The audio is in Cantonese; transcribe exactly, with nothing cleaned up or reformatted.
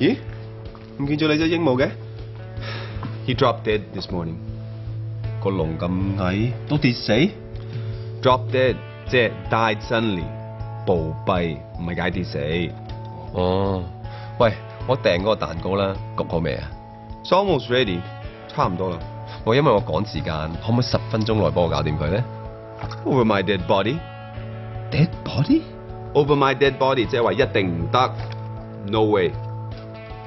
咦？唔見咗你隻鸚鵡嘅 He dropped dead this morning. 個籠咁矮都跌死？ Drop dead 即係 died suddenly，暴斃唔係解跌死。 哦，喂，我訂嗰個蛋糕啦，焗好未啊？ It's almost ready，差唔多啦。 我因為我趕時間，可唔可以十分鐘內幫我搞掂佢咧 Over my dead body。 Dead body？ Over my dead body 即係話一定唔得。No way。